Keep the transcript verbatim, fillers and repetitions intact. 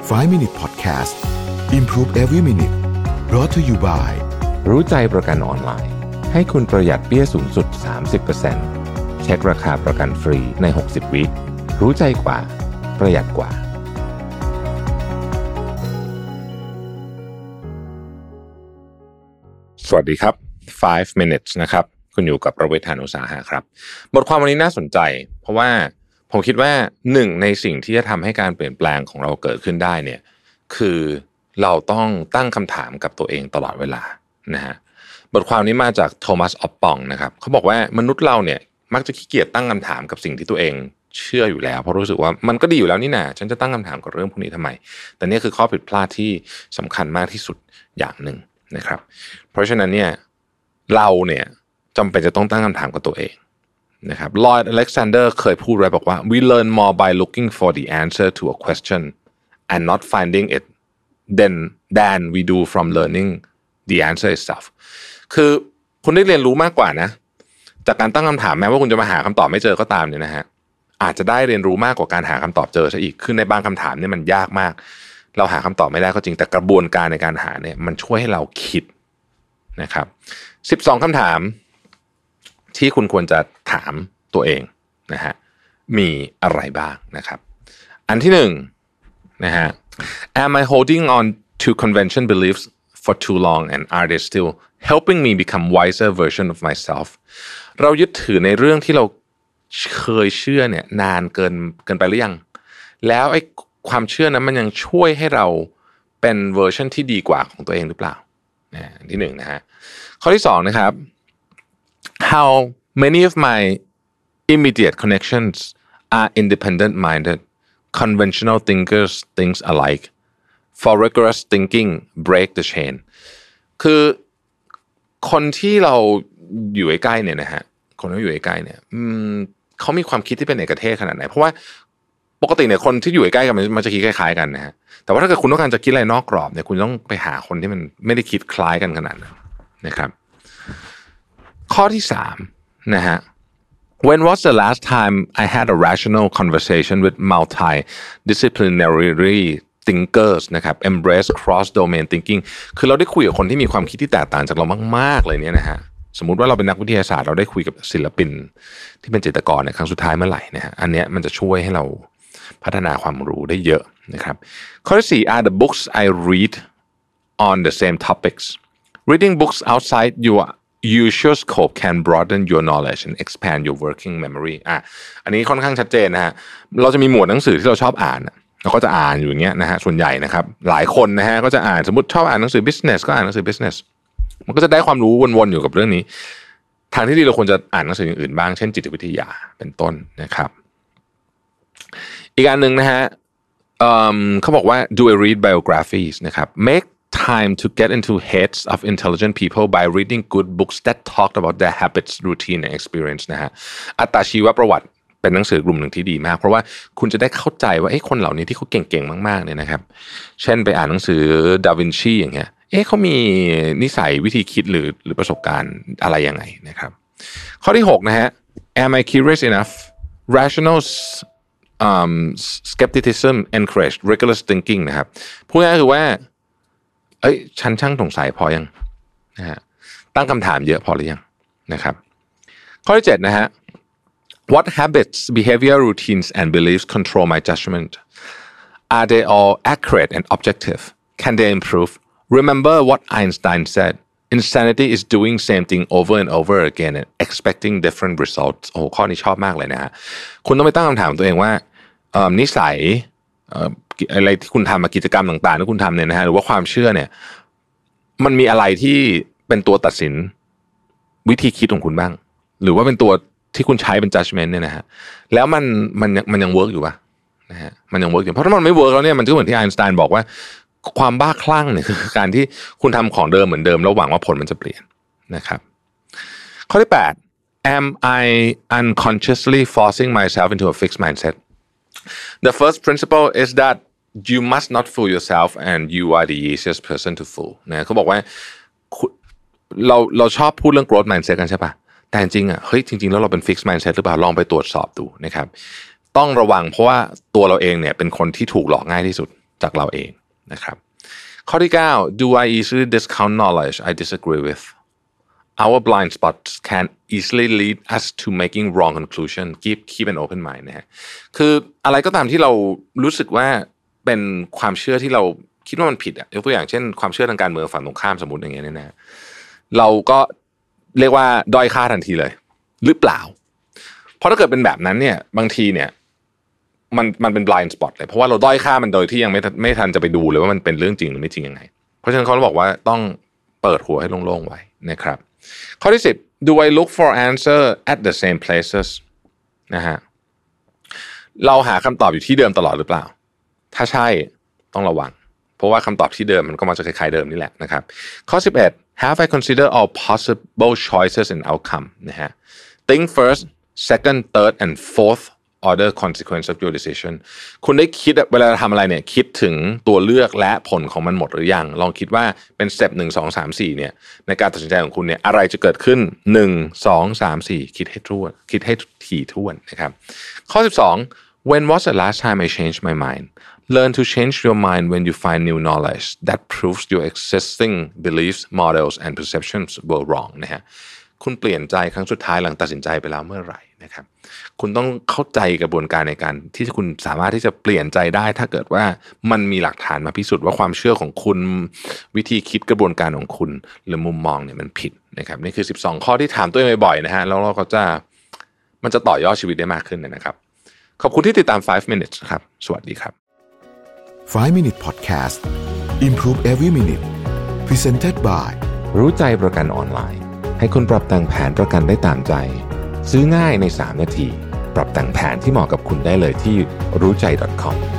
ไฟว์ minute podcast improve every minute brought to you by รู้ใจประกันออนไลน์ให้คุณประหยัดเบี้ยสูงสุด สามสิบเปอร์เซ็นต์ เช็คราคาประกันฟรีในหกสิบวิรู้ใจกว่าประหยัดกว่าสวัสดีครับไฟว์ minutes นะครับคุณอยู่กับประเวท หาญอุตสาหะครับบทความวันนี้น่าสนใจเพราะว่าผมคิดว่าหนึ่งในสิ่งที่จะทำให้การเปลี่ยนแปลงของเราเกิดขึ้นได้เนี่ยคือเราต้องตั้งคำถามกับตัวเองตลอดเวลานะฮะบทความนี้มาจากโทมัสออปปองนะครับเขาบอกว่ามนุษย์เราเนี่ยมักจะขี้เกียจตั้งคำถามกับสิ่งที่ตัวเองเชื่ออยู่แล้วเพราะรู้สึกว่ามันก็ดีอยู่แล้วนี่นะฉันจะตั้งคำถามกับเรื่องพวกนี้ทำไมแต่นี่คือข้อผิดพลาดที่สำคัญมากที่สุดอย่างหนึ่งนะครับเพราะฉะนั้นเนี่ยเราเนี่ยจำเป็นจะต้องตั้งคำถามกับตัวเองนะครับลอยด์ อเล็กซานเดอร์เคยพูดไว้บอกว่า we learn more by looking for the answer to a question and not finding it than than we do from learning the answer itself คือคุณได้เรียนรู้มากกว่านะจากการตั้งคำถามแม้ว่าคุณจะมาหาคำตอบไม่เจอก็ตามเนี่ยนะฮะอาจจะได้เรียนรู้มากกว่าการหาคำตอบเจอซะอีกคือในบางคำถามเนี่ยมันยากมากเราหาคำตอบไม่ได้ก็จริงแต่กระบวนการในการหาเนี่ยมันช่วยให้เราคิดนะครับสิบสองคำถามที่คุณควรจะถามตัวเองนะฮะมีอะไรบ้างนะครับอันที่หนึ่งนะฮะ Am I holding on to convention beliefs for too long and are they still helping me become wiser version of myself เรายึดถือในเรื่องที่เราเคยเชื่อเนี่ยนานเกินเกินไปหรือยังแล้วไอ้ความเชื่อนั้นมันยังช่วยให้เราเป็นเวอร์ชันที่ดีกว่าของตัวเองหรือเปล่านะที่หนึ่งนะฮะข้อที่สองนะครับ How many of my immediate connections are independent-minded conventional thinkers think alike for rigorous thinking break the chain คือคนที่เราอยู่ใกล้ๆเนี่ยนะฮะคนที่อยู่ใกล้ๆเนี่ยเขามีความคิดที่เป็นเอกเทศขนาดไหนเพราะว่าปกติเนี่ยคนที่อยู่ใกล้ๆกันมันจะคิดคล้ายๆกันนะฮะแต่ว่าถ้าเกิดคุณต้องการจะคิดอะไรนอกกรอบเนี่ยคุณต้องไปหาคนที่มันไม่ได้คิดคล้ายกันขนาดนั้นนะครับข้อที่สามนะฮะ When was the last time I had a rational conversation with multidisciplinary thinkers นะครับ embrace cross domain thinking คือเราได้คุยกับคนที่มีความคิดที่แตกต่างจากเรามากๆเลยเนี่ยนะฮะสมมุติว่าเราเป็นนักวิทยาศาสตร์เราได้คุยกับศิลปินที่เป็นจิตรกรในครั้งสุดท้ายเมื่อไหร่นะฮะอันเนี้ยมันจะช่วยให้เราพัฒนาความรู้ได้เยอะนะครับข้อที่สี่ are the books I read on the same topics reading books outside your usual scope can broaden your knowledge and expand your working memory อ่ะอันนี้ค่อนข้างชัดเจนนะฮะเราจะมีหมวดหนังสือที่เราชอบอ่านเราก็จะอ่านอยู่อย่างเงี้ยนะฮะส่วนใหญ่นะครับหลายคนนะฮะก็จะอ่านสมมติชอบอ่านหนังสือ business ก็อ่านหนังสือ business มันก็จะได้ความรู้วนๆอยู่กับเรื่องนี้ทางที่ดีเราควรจะอ่านหนังสืออย่างอื่นบ้างเช่นจิตวิทยาเป็นต้นนะครับอีกอันหนึ่งนะฮะ um, เขาบอกว่า do I read biographies นะครับ make time to get into heads of intelligent people by reading good books that talked about their habits routine and experience นะฮะอัตชีวประวัติเป็นหนังสือกลุ่มหนึ่งที่ดีมากเพราะว่าคุณจะได้เข้าใจว่าไอ้คนเหล่านี้ที่เขาเก่งๆมากๆเนี่ยนะครับเช่นไปอ่านหนังสือดาวินชีอย่างเงี้ยเอ๊ะเขามีนิสัยวิธีคิดหรือหรือประสบการณ์อะไรยังไงนะครับข้อที่หกนะฮะ Am I curious enough rational um, skepticism encourage rigorous thinking นะครับพูดง่ายๆคือว่าเอ้ยฉันช่างสงสัยพอยังนะฮะตั้งคำถามเยอะพอหรือยังนะครับข้อที่เจ็ดนะฮะWhat habits, behavior, routines, and beliefs control my judgment? Are they all accurate and objective? Can they improve? Remember what Einstein said. Insanity is doing same thing over and over again and expecting different results. โอ้ข้อนี้ชอบมากเลยนะฮะคุณต้องไปตั้งคำถามตัวเองว่านิสัยอะไรที่คุณทำมากิจกรรมต่างๆที่คุณทำเนี่ยนะฮะหรือว่าความเชื่อเนี่ยมันมีอะไรที่เป็นตัวตัดสินวิธีคิดของคุณบ้างหรือว่าเป็นตัวที่คุณใช้เป็น judgment เนี่ยนะฮะแล้วมันมันมันยังเวิร์กอยู่ป่ะนะฮะมันยังเวิร์กอยู่เพราะถ้ามันไม่เวิร์กแล้วเนี่ยมันก็เหมือนที่ไอน์สไตน์บอกว่าความบ้าคลั่งเนี่ยคือการที่คุณทำของเดิมเหมือนเดิมแล้วหวังว่าผลมันจะเปลี่ยนนะครับข้อที่แปด Am I unconsciously forcing myself into a fixed mindset? The first principle is that you must not fool yourself and you are the easiest person to fool นะเขาบอกว่าเราเราชอบพูดเรื่อง growth mindset กันใช่ป่ะแต่จริงๆอ่ะเฮ้ยจริงๆแล้วเราเป็น fixed mindset หรือเปล่าลองไปตรวจสอบดูนะครับต้องระวังเพราะว่าตัวเราเองเนี่ยเป็นคนที่ถูกหลอกง่ายที่สุดจากเราเองนะครับข้อที่เก้า Do I easily discount knowledge I disagree with Our blind spots can easily lead us to making wrong conclusion keep keep an open mind นะฮะคืออะไรก็ตามที่เรารู้สึกว่าเป็นความเชื่อที่เราคิดว่ามันผิดอ่ะยกตัวอย่างเช่นความเชื่อทางการเมืองฝั่งตรงข้ามสมมุติอย่างเงี้ยเนี่ยนะเราก็เรียกว่าด้อยค่าทันทีเลยหรือเปล่าเพราะถ้าเกิดเป็นแบบนั้นเนี่ยบางทีเนี่ยมันมันเป็น blind spot เลยเพราะว่าเราด้อยค่ามันโดยที่ยังไม่ไม่ทันจะไปดูเลยว่ามันเป็นเรื่องจริงหรือไม่จริงยังไงเพราะฉะนั้นเขาบอกว่าต้องเปิดหัวให้โล่งๆไว้นะครับข้อที่สิบ Do I look for answer at the same places นะฮะเราหาคำตอบอยู่ที่เดิมตลอดหรือเปล่าถ้าใช่ต้องระวังเพราะว่าคำตอบที่เดิมมันก็มาจากคล้ายๆเดิมนี่แหละนะครับข้อสิบเอ็ด Have I considered all possible choices and outcome นะฮะ Think first second third and fourth order consequence of your decision คุณได้คิดเวลาทำอะไรเนี่ยคิดถึงตัวเลือกและผลของมันหมดหรือยังลองคิดว่าเป็นสเต็ปหนึ่งสองสามสี่เนี่ยในการตัดสินใจของคุณเนี่ยอะไรจะเกิดขึ้นหนึ่ง สอง สาม สี่คิดให้ทั่วคิดให้ถี่ถ้วนนะครับข้อสิบสอง When was the last time I changed my mind Learn to change your mind when you find new knowledge that proves your existing beliefs models and perceptions were wrong นะฮะคุณเปลี่ยนใจครั้งสุดท้ายหลังตัดสินใจไปแล้วเมื่อไหร่นะครับคุณต้องเข้าใจกระบวนการในการที่คุณสามารถที่จะเปลี่ยนใจได้ถ้าเกิดว่ามันมีหลักฐานมาพิสูจน์ว่าความเชื่อของคุณวิธีคิดกระบวนการของคุณหรือมุมมองเนี่ยมันผิดนะครับนี่คือสิบสองข้อที่ถามตัวเองบ่อยๆนะฮะแล้วเราก็จะมันจะต่อยอดชีวิตได้มากขึ้นนะครับขอบคุณที่ติดตามไฟว์ minutes ครับสวัสดีครับไฟว์ minute podcast Improve every minute Presented by รู้ใจประกันออนไลน์ให้คุณปรับแต่งแผนประกันได้ตามใจซื้อง่ายในสามนาทีปรับแต่งแผนที่เหมาะกับคุณได้เลยที่รู้ใจ ดอท คอม